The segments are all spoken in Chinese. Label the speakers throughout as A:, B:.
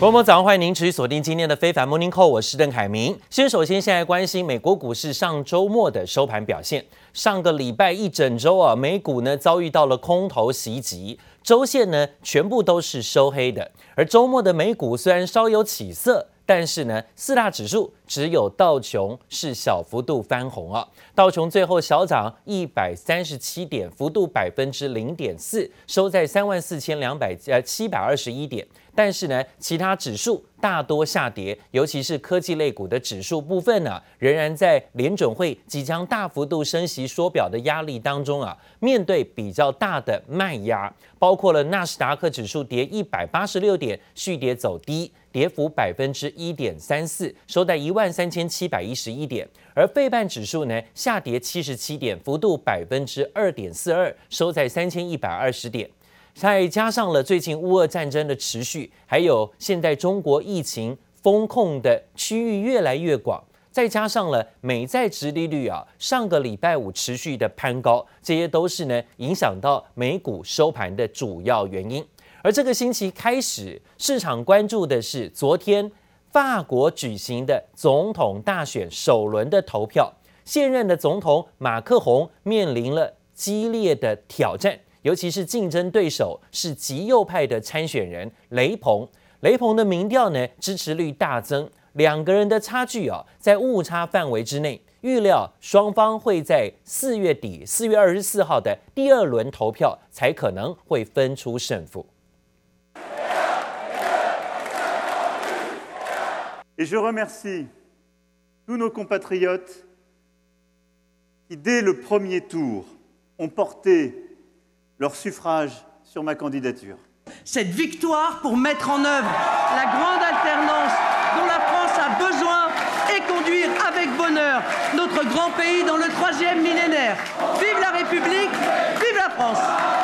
A: 各位早上，歡迎您持續鎖定今天的非凡 Morning Call， 我是鄧凱明。首先來關心美國股市上周末的收盤表現。上個禮拜一整周啊，美股呢遭遇到了空頭襲擊，周線呢全部都是收黑的。而周末的美股雖然稍有起色，但是呢，四大指數只有道瓊是小幅度翻紅啊。道瓊最後小漲137點，幅度0.4%，收在34,721點。但是呢，其他指数大多下跌，尤其是科技類股的指數部分呢，仍然在聯準會即將大幅度升息縮表的壓力當中啊，面對比較大的賣壓，包括了納斯達克指數跌186點，續跌走低，跌幅1.34%，收在13711點。而費半指數呢下跌77點，幅度2.42%，收在3120點。再加上了最近烏俄戰爭的持續，還有現在中國疫情封控的區域越來越廣，再加上了美債殖利率啊，上個禮拜五持續的攀高，這些都是呢影響到美股收盤的主要原因。而這個星期開始，市場關注的是昨天法國舉行的總統大選首輪的投票，現任的總統馬克宏面臨了激烈的挑戰。尤其是競爭對手是極右派的參選人雷朋，雷朋的民調呢支持率大增，兩個人的差距啊在誤差範圍之內，預料雙方會在4月底4月24號的第二輪投票才可能會分出勝負。
B: Et je remercie tous nos compatriotes qui dès le premier tour ont porté leur suffrage sur ma candidature.
C: Cette victoire pour mettre en œuvre la grande alternance dont la France a besoin et conduire avec bonheur notre grand pays dans le 3e millénaire. Vive la République, vive la France!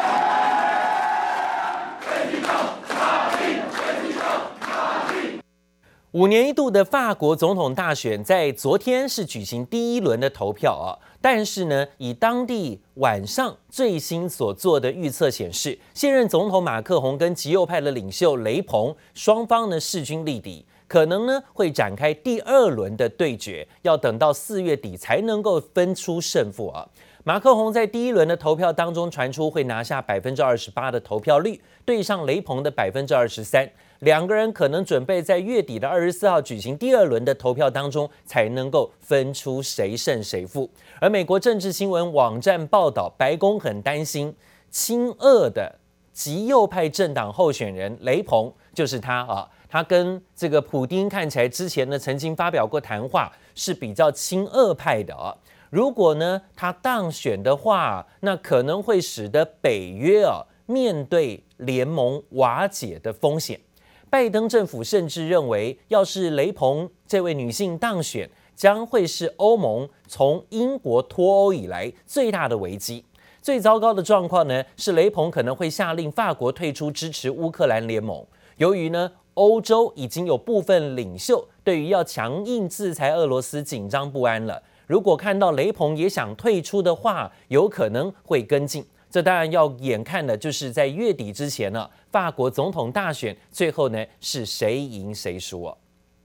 A: 5年一度的法國總統大選在昨天是舉行第一輪的投票啊，但是呢，以當地晚上最新所做的預測顯示，現任總統馬克宏跟極右派的領袖雷朋雙方呢勢均力敵，可能呢會展開第二輪的對決，要等到4月底才能夠分出勝負啊。馬克宏在第一輪的投票當中傳出會拿下28%的投票率，對上雷朋的23%。兩個人可能準備在月底的24號舉行第二輪的投票當中，才能夠分出誰勝誰負。而美國政治新聞網站報道，白宮很擔心親俄的極右派政黨候選人雷朋，就是他啊，他跟這個普丁看起來之前呢曾經發表過談話，是比較親俄派的啊。如果呢他當選的話，那可能會使得北約啊面對聯盟瓦解的風險。拜登政府甚至認為，要是雷朋這位女性當選，將會是歐盟從英國脫歐以來最大的危機。最糟糕的狀況呢，是雷朋可能會下令法國退出支持烏克蘭聯盟。由於呢，歐洲已經有部分領袖對於要強硬制裁俄羅斯緊張不安了。如果看到雷朋也想退出的話，有可能會跟進。這當然要眼看的就是在月底之前呢，法國總統大選最後呢是誰贏誰輸啊？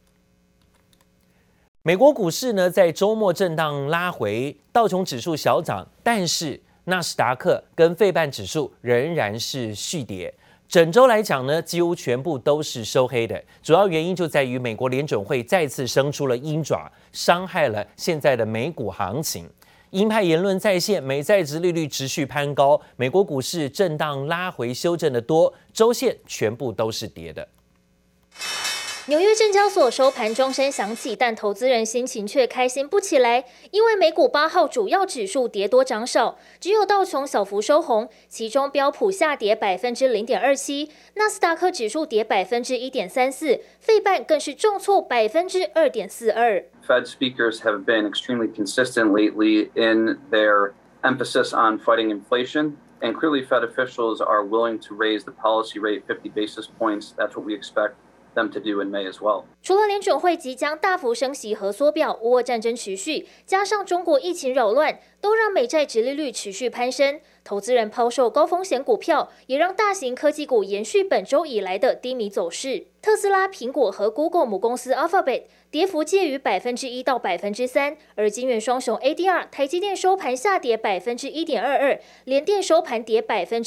A: 美國股市呢在周末震盪拉回，道瓊指數小漲，但是納斯達克跟費半指數仍然是續跌。整周來講呢，幾乎全部都是收黑的，主要原因就在於美國聯準會再次伸出了鷹爪，傷害了現在的美股行情。鷹派言論再現，美債殖利率持續攀高，美國股市震盪拉回修正的多，周線全部都是跌的。
D: 紐約證交所收盤鐘聲響起，但投資人心情卻開心不起來，因為美股8號主要指數跌多漲少，只有道瓊小幅收紅，其中標普下跌0.27%，納斯達克指數跌1.34%，費半更是重挫2.42%。
E: Fed speakers have been extremely consistent lately in their emphasis on fighting inflation, and clearly Fed officials are willing to raise the policy rate 50 basis points. That's what we expect them to do in May as well.
D: 除了联準會即將大幅升息和縮表，烏俄戰爭持續，加上中國疫情擾亂，都讓美債殖利率持續攀升。 投資人拋售高風險股票，也讓大型科技股延續本週以來的低迷走勢。特斯拉、蘋果和 Google 母公司 Alphabet 跌幅介於1%到3%，而晶圓雙雄 ADR 台積電收盤下跌1.22%，聯電收盤跌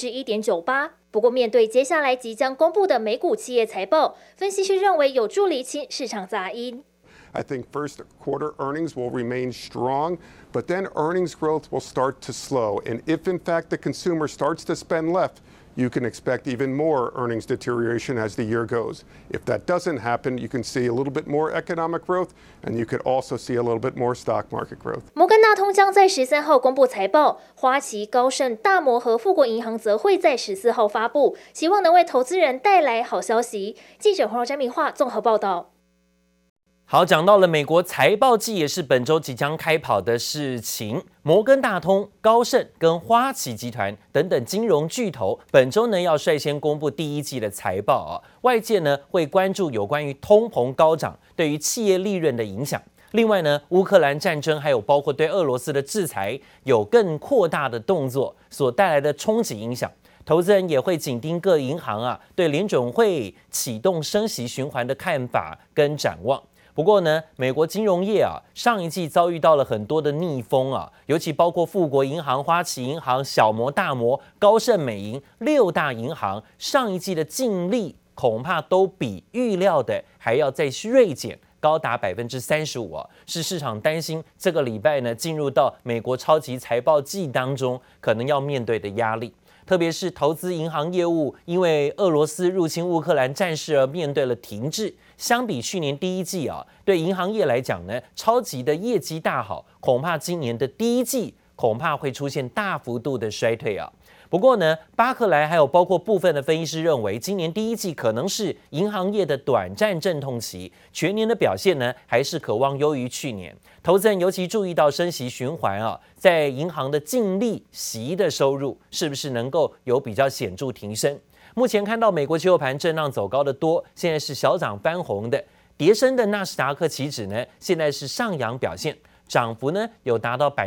D: 1.98%。不過，面對接下來即將公布的美股企業財報，分析師認為有助釐清市場雜音。
F: I think first quarter earnings will remain strong, but then earnings growth will start to slow. And if in fact the consumer starts to spend less, you can expect even more earnings deterioration as the year goes. If that doesn't happen, you can see a little bit more economic growth, and you could also see a little bit more stock market growth.
D: 摩根大通將在13號公布財報，花旗、高盛、大摩和富國銀行則會在14號發布，希望能為投資人帶來好消息。記者黃柔詹明化綜合報道。
A: 好，講到了美國財報季，也是本周即將開跑的事情。摩根大通、高盛跟花旗集團等等金融巨頭，本周呢要率先公布第一季的財報啊。外界呢會關注有關於通膨高漲對於企業利潤的影響。另外呢，烏克蘭戰爭還有包括對俄羅斯的制裁有更擴大的動作所帶來的衝擊影響。投資人也會緊盯各銀行啊對聯準會啟動升息循環的看法跟展望。不過呢，美國金融業啊，上一季遭遇到了很多的逆風啊，尤其包括富國銀行、花旗銀行、小摩、大摩、高盛、美銀6大銀行，上一季的淨利恐怕都比預料的還要再銳減，高達35%啊，是市場擔心這個禮拜呢進入到美國超級財報季當中可能要面對的壓力。特別是投資銀行業務，因為俄羅斯入侵烏克蘭戰事而面對了停滯。相比去年第一季啊，對銀行業來講呢，超級的業績大好，恐怕今年的第一季恐怕會出現大幅度的衰退啊。不過呢，巴克萊還有包括部分的分析師認為，今年第一季可能是銀行業的短暫陣痛期，全年的表現呢還是可望優於去年。投資人尤其注意到升息循環啊，在銀行的淨利息的收入是不是能夠有比較顯著提升？目前看到美國期貨盤震盪走高的多，現在是小漲翻紅的，跌深的納斯達克期指呢，現在是上揚表現。漲幅呢有達到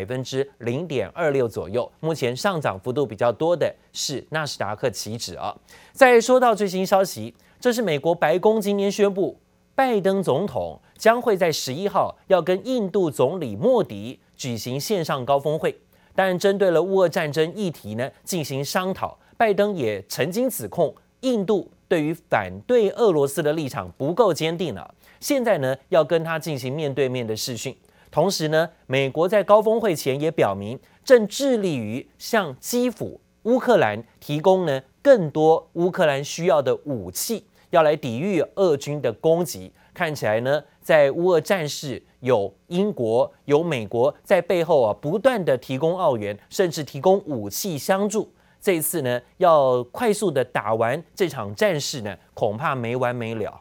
A: 0.26%左右，目前上漲幅度比較多的是納斯達克期指啊。再說到最新消息，這是美國白宮今天宣布，拜登總統將會在11號要跟印度總理莫迪舉行線上高峰會，當然針對了烏俄戰爭議題呢進行商討。拜登也曾經指控印度對於反對俄羅斯的立場不夠堅定了，現在呢要跟他進行面對面的視訊。同時呢，美國在高峰會前也表明，正致力於向基輔、烏克蘭提供呢更多烏克蘭需要的武器，要來抵禦俄軍的攻擊。看起來呢，在烏俄戰事有英國、有美國在背後啊，不斷的提供奧援，甚至提供武器相助。這一次呢，要快速的打完這場戰事呢，恐怕沒完沒了。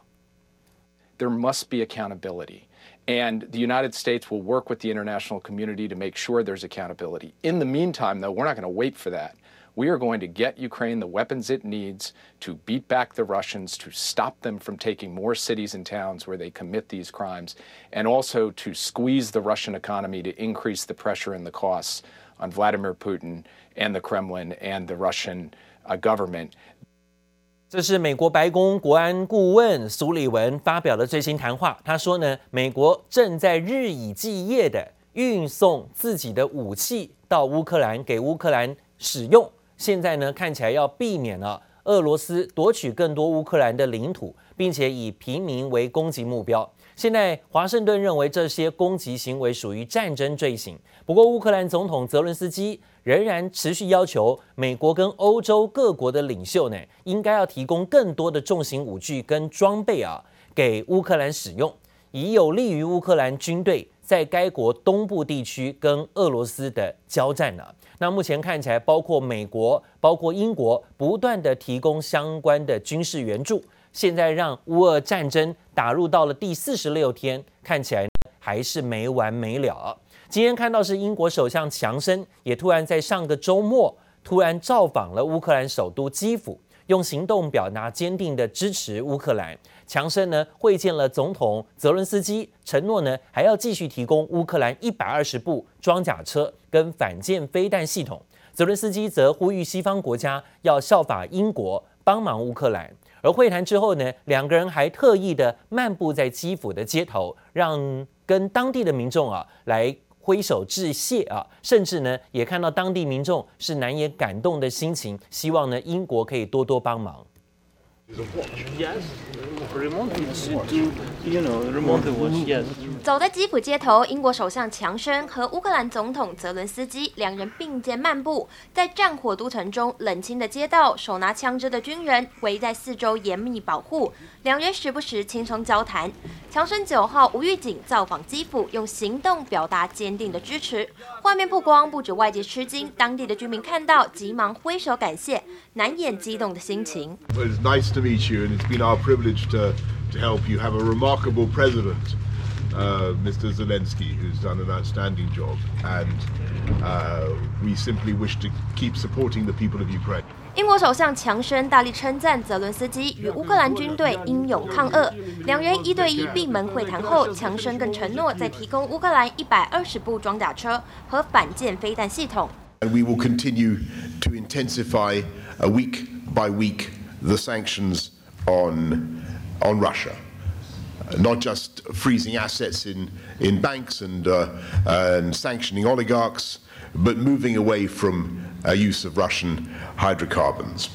G: There must be accountability. And the United States will work with the international community to make sure there's accountability. In the meantime, though, we're not going to wait for that. We are going to get Ukraine the weapons it needs to beat back the Russians, to stop them from taking more cities and towns where they commit these crimes, and also to squeeze the Russian economy to increase the pressure and the costs on Vladimir Putin and the Kremlin and the Russian government.
A: 這是美國白宮國安顧問蘇利文發表的最新談話。他說呢，美國正在日以繼夜的運送自己的武器到烏克蘭，給烏克蘭使用。現在呢，看起來要避免了俄羅斯奪取更多烏克蘭的領土，並且以平民為攻擊目標。現在華盛頓認為這些攻擊行為屬於戰爭罪行。不過，烏克蘭總統澤倫斯基仍然持續要求美國跟歐洲各國的領袖呢，應該要提供更多的重型武具跟裝備啊，給烏克蘭使用，以有利於烏克蘭軍隊在該國東部地區跟俄羅斯的交戰呢。那目前看起來，包括美國、包括英國不斷的提供相關的軍事援助。現在讓烏俄戰爭打入到了第46天，看起來還是沒完沒了。今天看到是英國首相強生也突然在上個週末突然造訪了烏克蘭首都基輔，用行動表達堅定的支持烏克蘭。強生呢會見了總統澤倫斯基，承諾呢還要繼續提供烏克蘭120部裝甲車跟反艦飛彈系統。 澤倫斯基則呼籲西方國家要效法英國，幫忙烏克蘭。而會談之後呢，兩個人還特意的漫步在基輔的街頭，讓跟當地的民眾來揮手致謝甚至呢也看到當地民眾是难掩感動的心情，希望呢英國可以多多幫忙。
H: 走在基輔街頭，英國首相強生和烏克蘭總統澤倫斯基兩人並肩漫步，在戰火都城中冷清的街道，手拿槍支的軍人圍在四周嚴密保護，兩人時不時輕鬆交談。強生9號無預警造訪基輔，用行動表達堅定的支持。畫面曝光，不止外界吃驚，當地的居民看到急忙揮手感謝，難掩激動的心情。
I: It's nice to meet you, and it's been our privilege to help you have a remarkable president, Mr. Zelensky, who's done an outstanding job, and we simply wish to keep supporting the people of Ukraine.
H: 英国首相强生大力稱讚澤倫斯基與烏克蘭軍隊英勇抗俄，兩人1對1閉門會談後，強生更承諾再提供烏克蘭120部裝甲車和反艦飛彈系統。
I: And we will continue to intensify week by week the sanctions on Russia. Not just freezing assets in banks and sanctioning oligarchs, but moving away from use of Russian hydrocarbons.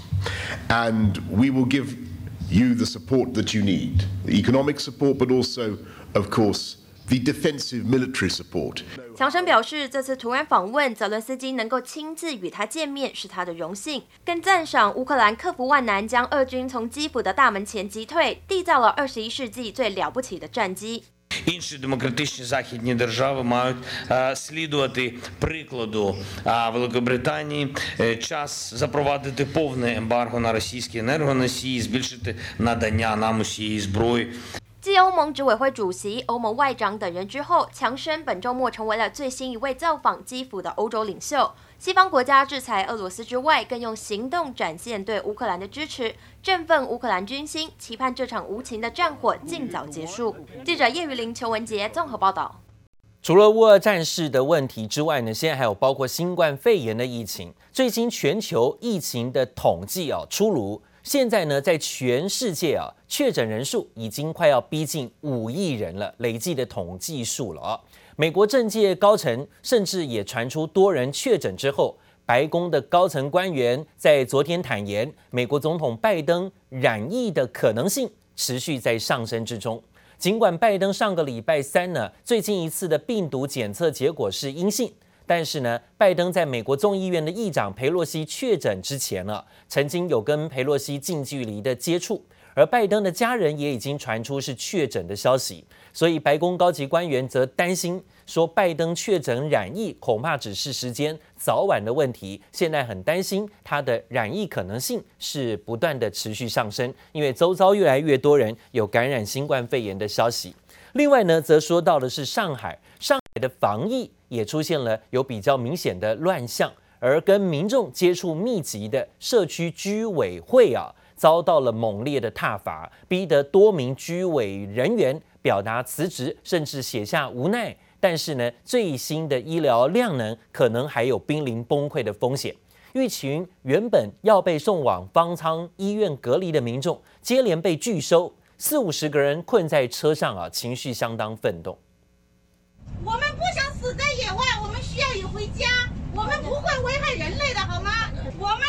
I: And we will give you the support that you need, the economic support, but also, of course, the defensive military support.
H: 强生表示，這次突然訪問，澤倫斯基能夠親自與他見面是他的榮幸，更讚賞烏克蘭克服萬難，將俄軍從基輔的大門前擊退，締造了21世紀最了不起的戰績。
J: Інші демократичні західні держави мають слідувати прикладу Великобританії. Час запровадити повне ембарго на російські енергоносії, збільшити надання нам усієї зброї.
H: 繼歐盟執委會主席、歐盟外長等人之後，強生本週末成為了最新一位造訪基輔的歐洲領袖。西方國家制裁俄羅斯之外，更用行動展現對烏克蘭的支持，振奮烏克蘭軍心，期盼這場無情的戰火盡早結束。記者葉玉玲、邱文傑綜合報道。
A: 除了烏俄戰事的問題之外呢，現在還有包括新冠肺炎的疫情。最新全球疫情的統計出爐。現在呢，在全世界確診人數已經快要逼近5億人了，累計的統計數了美國政界高層甚至也傳出多人確診之後，白宮的高層官員在昨天坦言，美國總統拜登染疫的可能性持續在上升之中。儘管拜登上個禮拜3呢，最近一次的病毒檢測結果是陰性。但是呢，拜登在美國眾議院的議長裴洛西確診之前曾經有跟裴洛西近距離的接觸，而拜登的家人也已經傳出是確診的消息，所以白宮高級官員則擔心說，拜登確診染疫恐怕只是時間早晚的問題，現在很擔心他的染疫可能性是不斷的持續上升，因為周遭越來越多人有感染新冠肺炎的消息。另外呢，則說到的是上海的防疫也出現了有比較明顯的亂象，而跟民眾接觸密集的社區居委會遭到了猛烈的撻伐，逼得多名居委人員表達辭職，甚至寫下無奈。但是呢，最新的醫療量能可能還有瀕臨崩潰的風險。一群原本要被送往方艙醫院隔離的民眾，接連被拒收，40-50個人困在車上情緒相當憤動。
K: 我們不想死在野外，我們需要也回家。我們不會危害人類的，好嗎？我們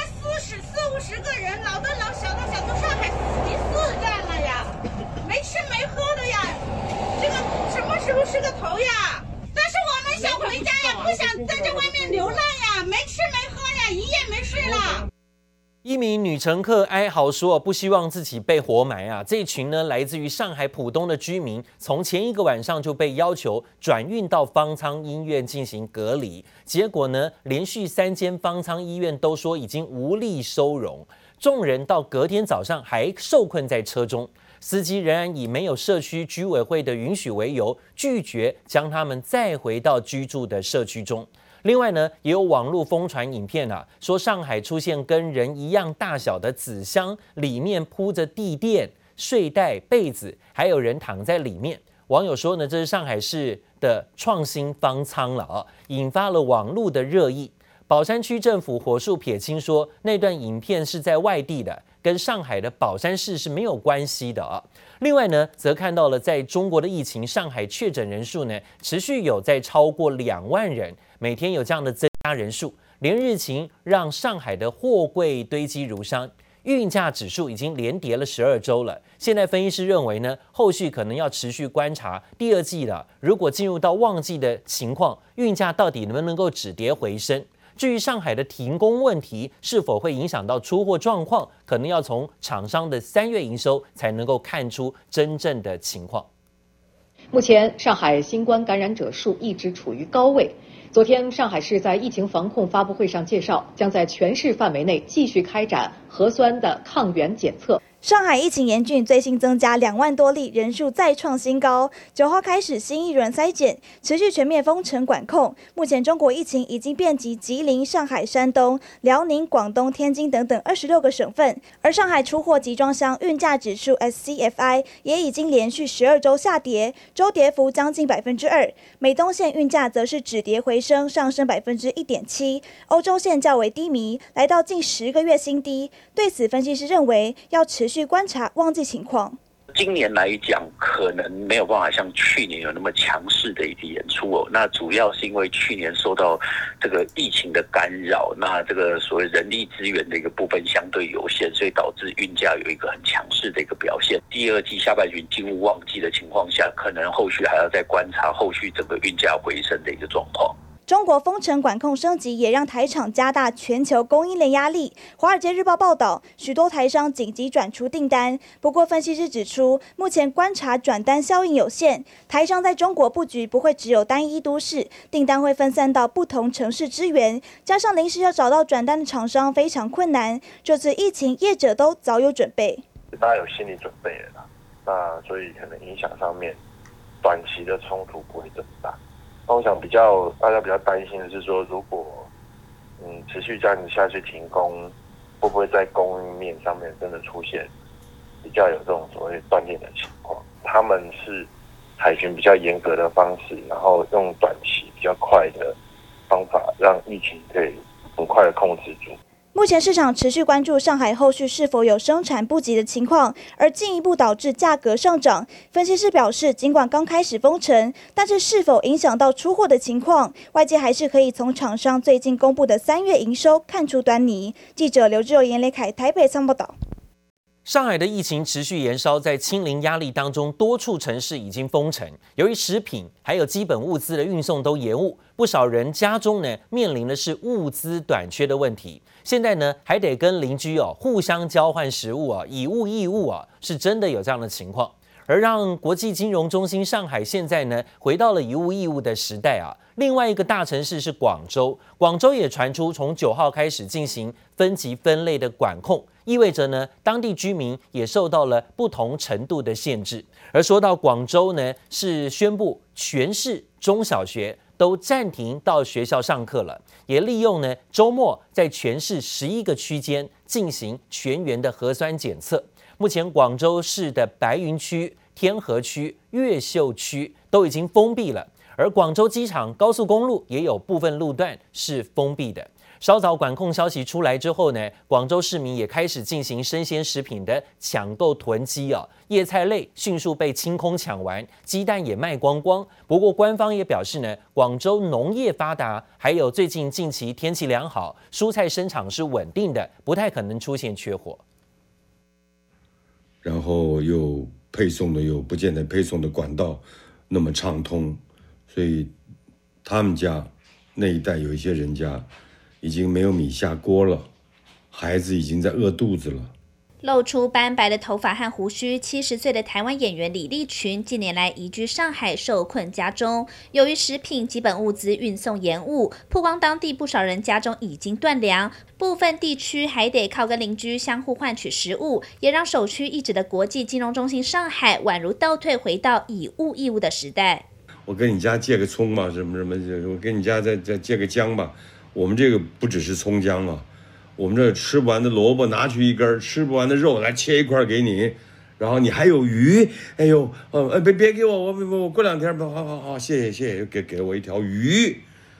K: 40-50個人，老的老，小的小，都上海死戰了呀，沒吃沒喝的呀，這個什麼時候是個頭呀？但是我們想回家呀，不想在這外面流浪呀，沒吃沒喝呀，一夜沒睡了。
A: 一名女乘客哀嚎說，不希望自己被活埋這一群呢，來自於上海浦東的居民，從前一個晚上就被要求轉運到方艙醫院進行隔離，結果呢，連續3間方艙醫院都說已經無力收容，眾人到隔天早上還受困在車中，司機仍然以沒有社區居委會的允許為由，拒絕將他們載回到居住的社區中。另外呢，也有網絡瘋傳影片說上海出現跟人一樣大小的紙箱，裡面鋪着地墊、睡袋、被子，還有人躺在裡面。網友說呢，這是上海市的創新方艙了引發了網絡的熱議。 寶山區政府火速撇清說，那段影片是在外地的，跟上海的寶山市是沒有關係的啊。另外呢，則看到了在中國的疫情，上海確診人數呢持續有在超過2萬人，每天有這樣的增加人數，連日情讓上海的貨櫃堆積如山。運價指數已經連跌了12週了。現在分析師認為呢，後續可能要持續觀察第二季了。如果進入到旺季的情況，運價到底能不能夠止跌回升？至於上海的停工問題是否會影響到出貨狀況，可能要從廠商的3月營收才能夠看出真正的情況。
L: 目前上海新冠感染者數一直處於高位。昨天，上海市在疫情防控發布會上介紹，將在全市範圍內繼續開展核酸的抗原檢測。
M: 上海疫情嚴峻，最新增加2萬多例，人數再創新高。9號開始新一輪篩檢，持續全面封城管控。目前中國疫情已經遍及吉林、上海、山東、遼寧、廣東、天津等26個省份。而上海出貨集裝箱運價指數 SCFI 也已經連續12週下跌，週跌幅將近2%。美東線運價則是止跌回升，上升1.7%。歐洲線較為低迷，來到近10個月新低。對此，分析師認為要持續觀察旺季情況。
N: 今年來講，可能沒有辦法像去年有那麼強勢的一個演出哦。那主要是因為去年受到這個疫情的干擾，那這個所謂人力資源的一個部分相對有限，所以導致運價有一個很強勢的一個表現。第二季下半旬進入旺季的情況下，可能後續還要再觀察後續整個運價回升的一個狀況。
M: 中國封城管控升級，也讓台廠加大全球供應鏈壓力。華爾街日報報道，許多台商緊急轉出訂單。不過，分析師指出，目前觀察轉單效應有限，台商在中國布局不會只有單一都市，訂單會分散到不同城市支援。加上臨時要找到轉單的廠商非常困難，這次疫情業者都早有準備。
O: 大家有心理準備了啦，那所以可能影響上面，短期的衝突不會這麼大。那我想大家比較擔心的是說，如果持續這樣子下去停工，會不會在供應面上面真的出現比較有這種所謂斷鏈的情況？他們是採取比較嚴格的方式，然後用短期比較快的方法，讓疫情可以很快的控制住。
M: 目前市場持續關注上海後續是否有生產不及的情況，而進一步導致價格上漲。分析師表示，儘管剛開始封城，但是否影響到出貨的情況，外界還是可以從廠商最近公布的3月營收看出端倪。記者劉志柔、嚴磊凱台北參報道。
A: 上海的疫情持續延燒，在清零壓力當中，多處城市已經封城。由於食品還有基本物資的運送都延誤，不少人家中呢面臨的是物資短缺的問題。現在呢還得跟鄰居互相交換食物以物易物是真的有這樣的情況。而讓國際金融中心上海現在呢回到了以物易物的時代另外一個大城市是廣州，廣州也傳出從9號開始進行分級分類的管控，意味着呢當地居民也受到了不同程度的限制。而說到廣州呢，是宣布全市中小學都暫停到學校上課了，也利用呢週末在全市11個區間進行全員的核酸檢測。目前廣州市的白雲區、天河區、越秀區都已經封閉了，而廣州機場高速公路也有部分路段是封閉的。稍早管控消息出來之後呢，廣州市民也開始進行生鮮食品的搶購囤積葉菜類迅速被清空搶完，雞蛋也賣光光。不過官方也表示呢，廣州農業發達，還有最近近期天氣良好，蔬菜生長是穩定的，不太可能出現缺貨。
P: 然後又配送的又不見得配送的管道那麼暢通，所以他們家那一帶有一些人家已經沒有米下鍋了，孩子已經在餓肚子了。
Q: 露出斑白的頭髮和鬍鬚，70歲的台灣演員李立群近年來移居上海，受困家中。由於食品基本物資運送延誤，曝光當地不少人家中已經斷糧，部分地區還得靠跟鄰居相互換取食物，也讓首屈一指的國際金融中心上海宛如倒退回到以物易物的時代。
P: 我跟你家借個蔥嘛，什麼，我跟你家再借個薑吧。我們這個不只是蔥薑啊。我們這吃不完的蘿蔔拿去一根，吃不完的肉來切一塊給你，然後你還有魚，哎呦，別給我，我過兩天吧，好，謝謝，給了我一條魚，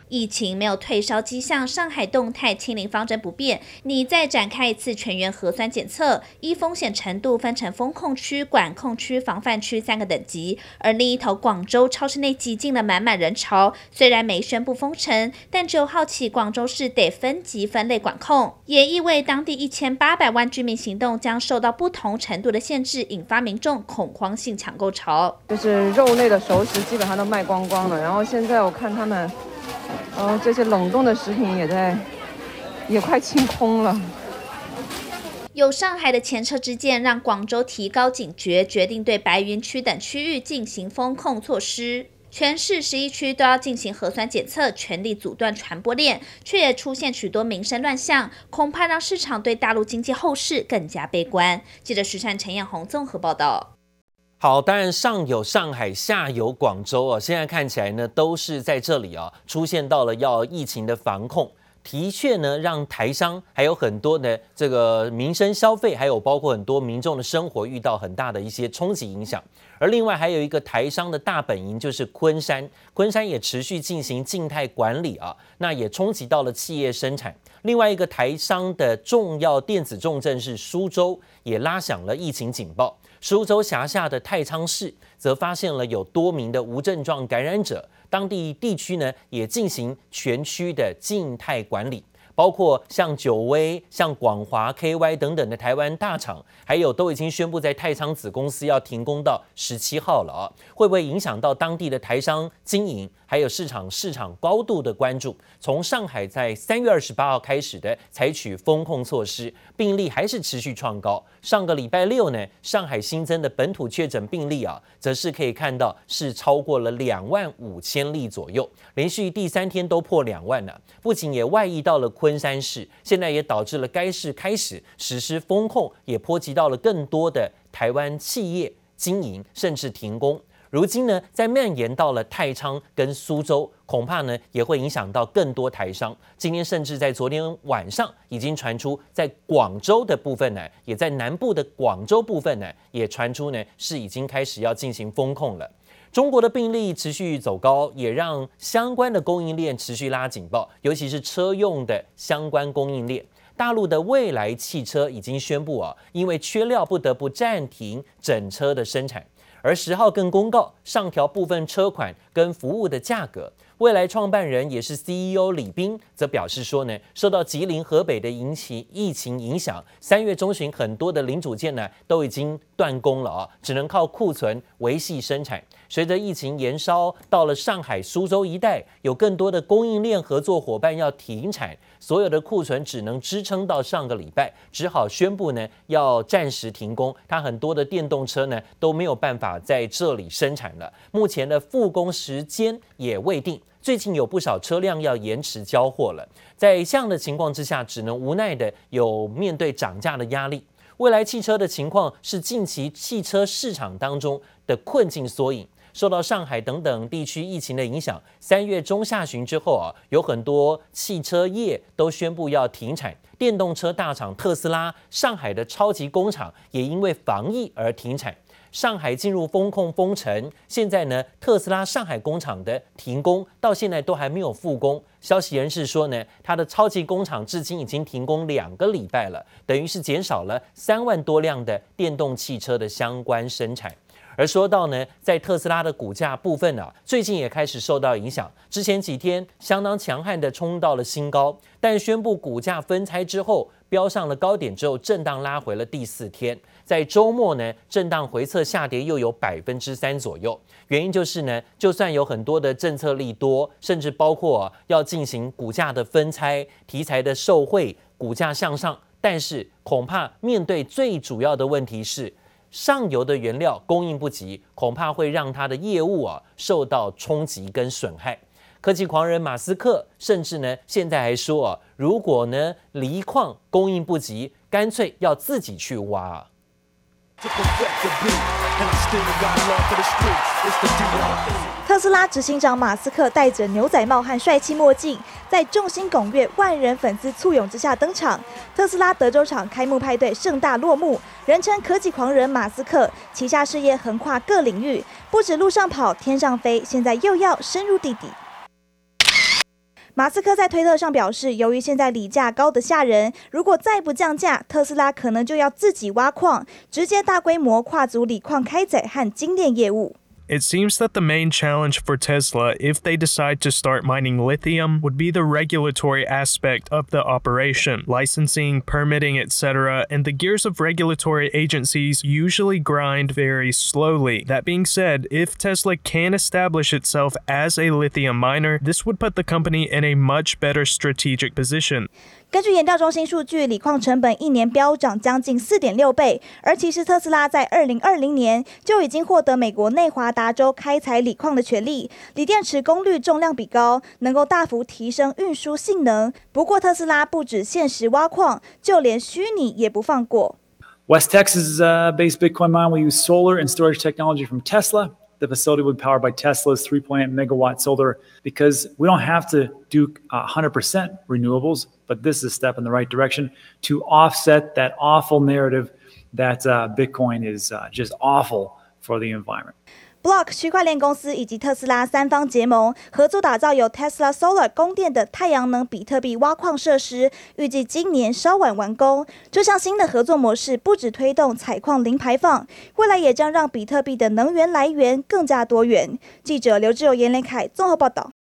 Q: 疫情沒有退燒跡象，上海動態清零方針不變，你再展開一次全員核酸檢測，依風險程度分成封控區、管控區、防範區3個等級。而另一頭廣州超市內擠進了滿滿人潮，雖然沒宣布封城，但9號起廣州市得分級分類管控，也意味當地1800萬居民行動將受到不同程度的限制，引發民眾恐慌性搶購潮。
R: 就是肉類的熟食基本上都賣光光了，然後現在我看他們，這些冷凍的食品也快清空了。
Q: 有上海的前車之鑑，讓廣州提高警覺，決定對白雲區等區域進行封控措施。全市11區都要進行核酸檢測，全力阻斷傳播鏈，卻也出現許多民生亂象，恐怕讓市場對大陸經濟後市更加悲觀。記者徐善、陳彥宏綜合報道。
A: 好，當然上有上海，下有廣州啊，現在看起來呢，都是在這裡啊，出現到了要疫情的防控。的確呢，讓台商還有很多的這個民生消費，還有包括很多民眾的生活遇到很大的一些衝擊影響。而另外還有一個台商的大本營就是昆山，昆山也持續進行靜態管理啊，那也衝擊到了企業生產。另外一個台商的重要電子重鎮是蘇州，也拉響了疫情警報。蘇州轄下的太倉市則發現了有多名的無症狀感染者，當地地區呢也進行全區的靜態管理，包括像九威、像廣華、KY 等等的台灣大廠，還有都已經宣布在太倉子公司要停工到17號了啊，會不會影響到當地的台商經營？還有市場高度的關注。從上海在3月28號開始的採取封控措施，病例還是持續創高。上個禮拜六呢，上海新增的本土確診病例啊，則是可以看到是超過了25000例左右，連續第3天都破2萬了。不僅也外溢到了昆山市，現在也導致了該市開始實施封控，也波及到了更多的台灣企業經營，甚至停工。如今呢，在蔓延到了太倉跟蘇州，恐怕呢也會影響到更多台商。今天甚至在昨天晚上已經傳出，在廣州的部分呢，也在南部的廣州部分呢，也傳出呢是已經開始要進行封控了。中國的病例持續走高，也讓相關的供應鏈持續拉警報，尤其是車用的相關供應鏈。大陸的蔚來汽車已經宣布啊，因為缺料不得不暫停整車的生產。而10號更公告上調部分車款跟服務的價格。蔚來創辦人也是 CEO 李斌則表示說呢，受到吉林、河北的疫情影響，3月中旬很多的零組件呢都已經斷供了啊，只能靠庫存維繫生產。隨着疫情延燒到了上海、蘇州一帶，有更多的供應鏈合作夥伴要停產，所有的庫存只能支撐到上個禮拜，只好宣布呢要暫時停工。它很多的電動車呢都沒有辦法在這裡生產了，目前的復工時間也未定。最近有不少車輛要延遲交貨了，在這樣的情況之下，只能無奈的有面對漲價的壓力。蔚來汽車的情況是近期汽車市場當中的困境縮影。受到上海等等地區疫情的影響，3月中下旬之後啊，有很多汽車業都宣布要停產。電動車大廠特斯拉上海的超級工廠也因為防疫而停產。上海進入封控封城，現在呢，特斯拉上海工廠的停工到現在都還沒有復工。消息人士說呢，它的超級工廠至今已經停工2個禮拜了，等於是減少了3萬多輛的電動汽車的相關生產。而說到呢，在特斯拉的股價部分啊，最近也開始受到影響。之前幾天相當強悍的衝到了新高，但宣布股價分拆之後，飆上了高點之後，震盪拉回了第4天。在週末呢，震盪回測下跌又有3%左右。原因就是呢，就算有很多的政策利多，甚至包括要進行股價的分拆、題材的受惠，股價向上，但是恐怕面對最主要的問題是，上游的原料供應不及，恐怕會讓它的業務受到衝擊跟損害。科技狂人馬斯克甚至呢現在還說如果呢鋰礦供應不及，乾脆要自己去挖。
M: 特斯拉執行長馬斯克戴着牛仔帽和帥氣墨鏡，在眾星拱月、萬人粉絲簇擁之下登場。特斯拉德州廠開幕派對盛大落幕，人稱科技狂人馬斯克旗下事業橫跨各領域，不止路上跑、天上飛，現在又要深入地底。 馬斯克在推特上表示，由於現在鋰價高得嚇人，如果再不降價，特斯拉可能就要自己挖礦，直接大規模跨足鋰礦開採和精煉業務。
S: It seems that the main challenge for Tesla, if they decide to start mining lithium, would be the regulatory aspect of the operation, licensing, permitting, etc., and the gears of regulatory agencies usually grind very slowly. That being said, if Tesla can establish itself as a lithium miner, this would put the company in a much better strategic position.
M: 根據研調中心數據，鋰礦成本1年飆漲將近4.6倍，而其實特斯拉在2020年就已經獲得美國內華達州開採鋰礦的權利，鋰電池功率重量比高，能夠大幅提升運輸性能。不過特斯拉不止現實挖礦，就連虛擬也不放過。
T: West Texas-based Bitcoin mine will use solar and storage technology from Tesla. The facility will be powered by Tesla's 3.8 megawatt solar because we don't have to do 100% renewables, but this is a step in the right direction to offset that awful narrative that Bitcoin is just awful for the environment.
M: Block 區塊鏈公司以及特斯拉三方結盟，合作打造由 Tesla Solar 供電的太陽能比特幣挖礦設施，預計今年稍晚完工。這項新的合作模式不只推動採礦零排放，未來也將讓比特幣的能源來源更加多元。記者劉志友、嚴連凱綜合報道。